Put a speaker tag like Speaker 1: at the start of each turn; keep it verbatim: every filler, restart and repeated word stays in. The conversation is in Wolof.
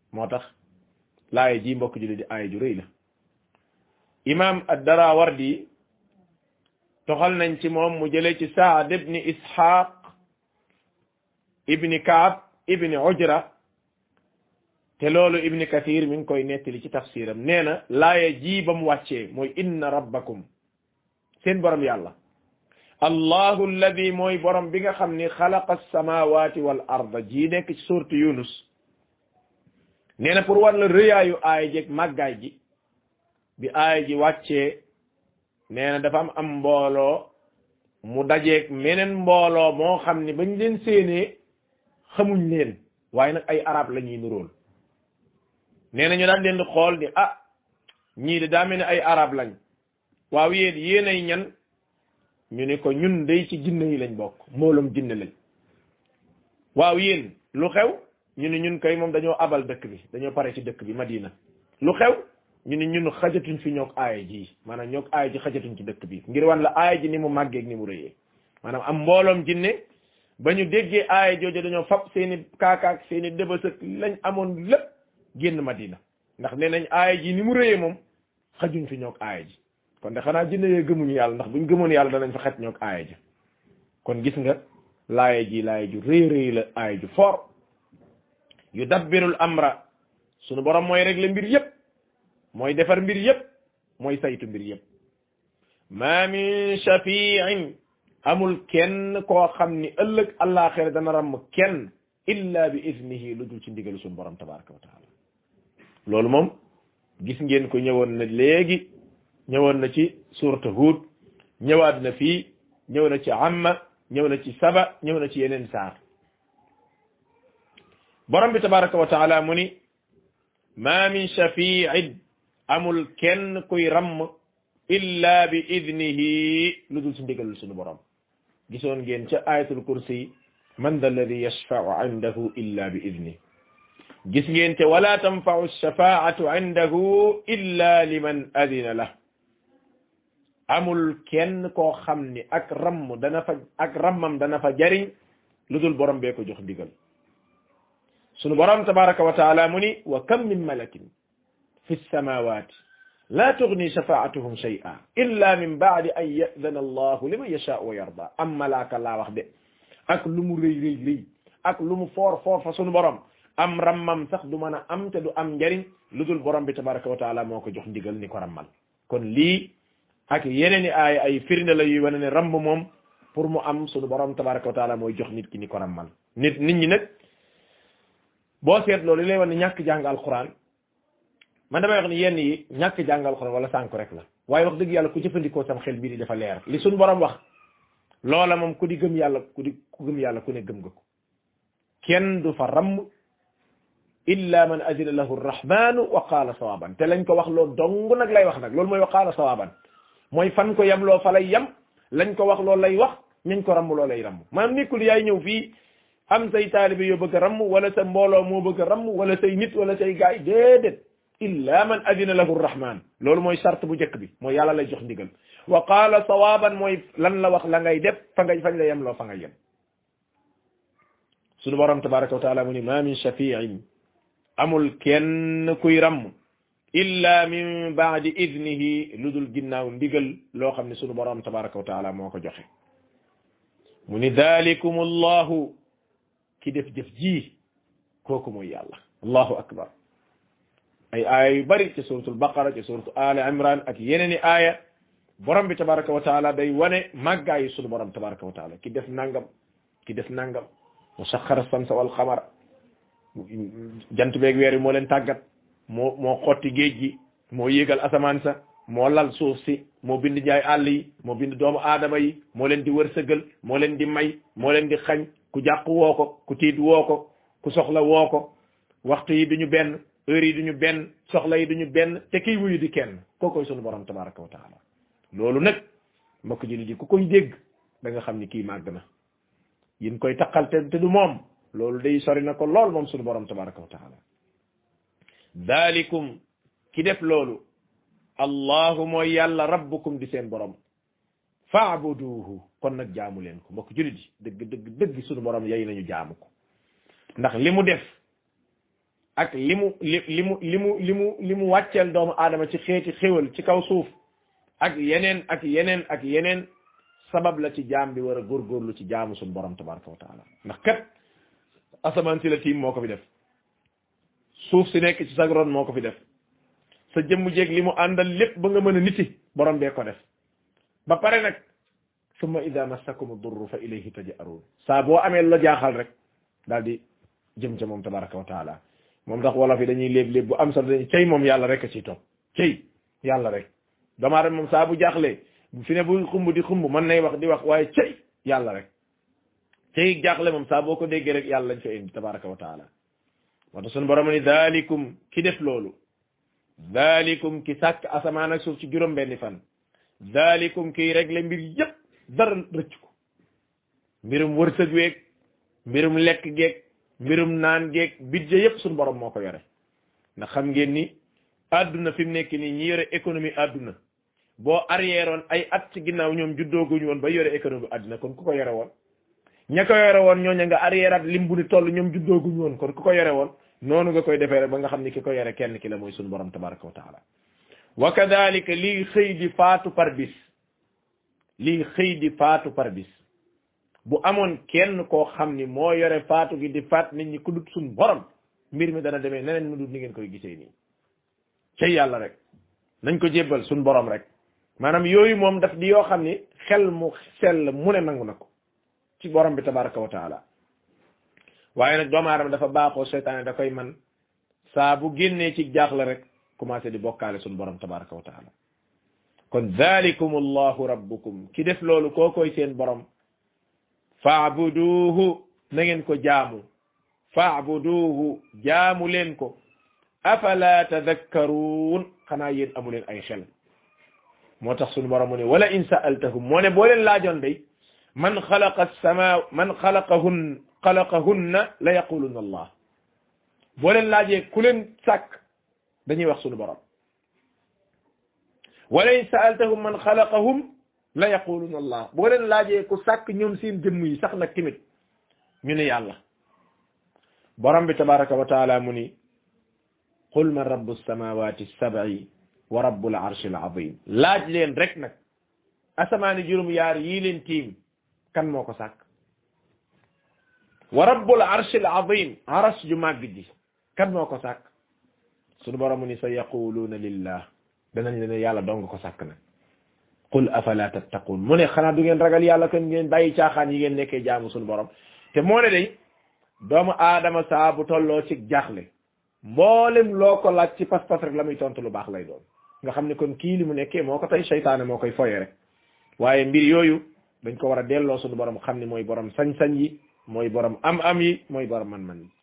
Speaker 1: moo tax laaya ji mbokk julli di aaya ju rëy la imam ad-Darawardi toxal nañ ci moom mu jëlee ci Saad ibni Ishaq ibni Kaab ibni Ujra te loolu ibni Kathir mi ngi koy nettali ci tafsiram nee na laaya ji ba mu wàccee mooy inna rabbakum seen borom yàlla allahu alladi mooy borom bi nga xam ni xalaqa alsamawati wal arda ji nekk ci suurtu Yunus nee na pour war la rëyaayu aaya jeeg màggaay ji bi aaya ji wàccee nee na dafa am am mbooloo mu dajeeg meneen mbooloo moo xam ni bañ leen séenee xamuñ leen waaye nag ay arab la ñuy nuróol nee na ñu daan leen di xool ni ah ñii de daa mel ni ay arab lañ waaw yéen yéen ay ñan ñu ne ko ñun day ci jinne yi lañ bokk mbooloom jinne lañ waaw yéen lu xew ñu ne ñun kay moom dañoo abal dëkk bi dañoo pare ci dëkk bi Madina lu xew ñu ne ñun xajatuñ fi ñook aaya ji maanaam ñook aaya ji xajatuñ ci dëkk bi ngir wan la aaya ji ni mu màggeeg ni mu rëyee maanaam am mbooloom jinne ba ñu déggee aaya jooju dañoo fab seeni kaakaak seeni dëbësëk lañ amoon lépp génn Madina ndax nee nañ aaya ji ni mu rëyee moom xajuñ fi ñook aaya ji kon de xanaa jinne yee gëmuñu yàlla ndax buñ gëmoon yàlla danañ fa xet ñook aaya ji kon gis nga laaya ji laaya ju rëy rëy la aaya ju fort yu dabbirul amra sunu borom mooy régler mbir yépp mooy defar mbir yépp mooy saytu mbir yépp ma min shafi'in amul kenn koo xam ni ëllëg àllaaxira dana ramm kenn illa bi iznihi lu dul ci ndigalu sunu borom tabaraka wa taala loolu moom gis ngeen ko ñëwoon na léegi ñëwoon na ci suuratu Huud ñëwaat na fii ñëw na ci amma ñëw na ci saba ñëw na ci yeneen saar borom bi tabaraka wa taala mu ni ma min shafi'in amul kenn kuy ramm illa bi idnihi lu dul ci ndigalul sunu borom gisoon ngeen ca ayatul kursi man da alladi yashfa'u indahu illa bi idnihi gis ngeen te wala tanfa'u shafaa'atu indahu illa liman adina lah amul kenn koo xam ni ak ramm dana fa ak rammam dana fa jariñ lu dul borom bee ko jox ndigal sunu borom tabaraka wa taala mu ni wa kam min malakin fi samawati la tughni shafaatuhum shay'a illa min ba'di an ya'dhana allahu liman yasha'u wa yarda am malaaka laa wax de ak lu mu rëy rëy rëy ak lu mu foor foor fa sunu borom am rammam sax du mën a am te du am njariñ lu dul borom bi tabaraka wa taala moo ko jox ndigal ni ko rammal kon lii ak yeneen i aaya ay firnde la yuy wane ne ramb moom pour mu am sunu borom tabaraka wa taala mooy jox nit ki ni ko rammal nit nit ñi nag boo seet loolu li lay wane ñàkk jàng alquran man damay wax ni yenn yi ñàkk jàng alquran wala sànku rek la waaye wax dëgg yàlla ku jëfandikoo sam xel bii di dafa leer li sunu borom wax loola moom ku di gëm yàlla ku di ku gëm yàlla ku ne gëm nga ko kenn du fa ramm illa man adina lahu arrahmanu wa qaala sawaban te lañ ko wax loolu dong nag lay wax nag loolu mooy wa qaala sawaban mooy fan ko yem loo fa lay yem lañ ko wax loolu lay wax ñañ ko ramm loolu lay ramm maanaam nekkul yaay ñëw fii am say taalibe yoo bëgg a ramm wala sa mbooloo moo bëgg a ramm wala say nit wala say gaay déedéet illa man adina lahu arrahman loolu mooy sart bu njëkk bi mooy yàlla lay jox ndigal wa qaala sawaban mooy lan la wax la ngay def fa ngay fañ la yem loo fa ngay yem sunu borom tabaraka wa taala mu ni ma min shafi'in amul kenn kuy ramm illa min ba'di idnihi lu dul ginnaaw ndigal loo xam ne sunu borom tabaraka wa taala moo ko joxe mu ni dalikum allahu ki def jëf ji kooku mooy yàlla allahu akbar ay aaya yu bari ci suratul baqara ci suratu ali imran ak yeneen i aaya borom bi tabaraka wa taala day wane màggaayu sunu borom tabaraka wa taala ki def nangam ki def nangam mu saxara samsa wal xamara jant beeg weer yi moo leen tàggat moo moo xotti géej gi moo yéegal asamaan sa moo lal suuf si moo bind njaay àll yi moo bind doomu aadama yi moo leen di wërsëgal moo leen di may moo leen di xañ ku jàq woo ko ku tiit woo ko ku soxla woo ko waxtu yi duñu benn heure yi duñu benn soxla yi duñu benn te kiy wuyu di kenn kookoy sunu borom tabaraka wa taala loolu nag mbokk ji ji ku koy dégg da nga xam ni kii màgg na yin koy taqal te te du moom loolu day sori na ko lool moom sunu borom tabaraka wa taala dalikum ki def loolu allahu mooy yàlla rabbukum di seen borom fa'buduhu kon nag jaamu leen ko mbokk julit yi dëgg dëgg dëgg sunu borom yay nañu jaamu ko ndax li mu def ak li mu li li mu li mu li mu li mu wàcceel doomu aadama ci xeeti xéwal ci kaw suuf ak yeneen ak yeneen ak yeneen sabab la ci jaam bi war a góorgóorlu ci jaamu suñu borom tabaraka wa taala ndax kat asamaan si la tiim moo ko fi def suuf si nekk ci sag ron moo ko fi def sa jëmm jéeg li mu àndal lépp ba nga mën a niti borom bee ko def ba pare nag summa ida massakum durru fa ilayhi taj'arun saa boo amee la jaaxal rek daal di jëm ca moom tabaraka wa taala moom tax wolof yi dañuy léeb-léeb bu am sax dañuy cey moom yàlla rek a ciy topp cey yàlla rek damaa rek moom saa bu jaaxlee fi ne bu xumb di xumb mën nay wax di wax waaye cey yàlla rek cey jaaxle moom saa boo ko déggee rek yàlla lañ fa indi tabaraka wa taala moo tax suñu borom ni daalikum ki def loolu daalikum ki sàkk asamaan ak suuf ci juróom benni fan daalikum kiy régler mbir yëpp dara rëcc ko mbirum wërsëg weeg mbirum lekk geeg mbirum naan geeg budget yëpp suñu borom moo ko yore ndax xam ngeen ni àdduna fi mu nekk nii ñi yore économie àdduna boo arrière woon ay at ci ginnaaw ñoom juddooguñu woon ba yore économie àdduna kon ku ko yore woon ña ko yore woon ñooña nga arrière at lim bu ni toll ñoom juddooguñu woon kon ku ko yore woon noonu nga koy defee rek ba nga xam ni ki ko yore kenn ki la mooy suñu borom tabaraka wa taala wa kadalika lii xëy di faatu par bis lii xëy di faatu par bis bu amoon kenn koo xam ni moo yore faatu gi di faat nit ñi ku dut suñu borom mbir mi dana demee neneen mu dut ni ngeen koy gisee nii cay yàlla rek nañ ko jébbal suñu borom rek maanaam yooyu moom daf di yoo xam ni xel mu sell mu ne nangu na ko ci borom bi tabaraka wa taala waaye nag doomu aadama dafa baaxoo seytaane da koy man saa bu génnee ci jaaxle rek commencé di bokkaale suñu borom tabaraka wa taala kon dhalikum allahu rabbukum ki def loolu koo koy seen borom fa'buduhu na ngeen ko jaamu fa'buduhu jaamu leen ko afala tadhakkarun xanaa yéen amu leen ay xel moo tax suñu borom mu ne wala in sa'altahum moo ne boo leen laajoon day man xalaqa as-samaa man xalaqahun xalaqahunna la yaquluna allah boo leen laajee ku leen sàkk dañuy wax suñu borom wala in sa'altahum man xalaqahum la yaquluna allah boo leen laajee ku sàkk ñoom seen jëmm yi sax nag timit ñu ne yàlla borom bi tabaraka wa taala mu ni qul man rabbu samawati as-sab'i wa rabbul arshi al-azim laaj leen rek nag asamaani juróom yaar yii leen tiim kan moo ko sàkk wa rabbul arshi al-azim aras ju màgg ji kan moo ko sàkk sunu borom ni sa yaquluuna lillah danañ leen yàlla dong ko sàkk nag qul afala tattaqun mu ne xanaa du ngeen ragal yàlla kan ngeen bàyyi caaxaan yi ngeen nekkee jaamu sunu borom te moo ne day doomu aadama saa bu tolloo ci jaaxle mboolem loo ko laaj ci pas-pas rek la muy tontu lu baax lay doon nga xam ne kon kii li mu nekkee moo ko tey seytaane moo koy foye rek waaye mbir yooyu dañ ko war a delloo sunu borom xam ne mooy borom sañ-sañ yi mooy borom am-am yi mooy borom man-man yi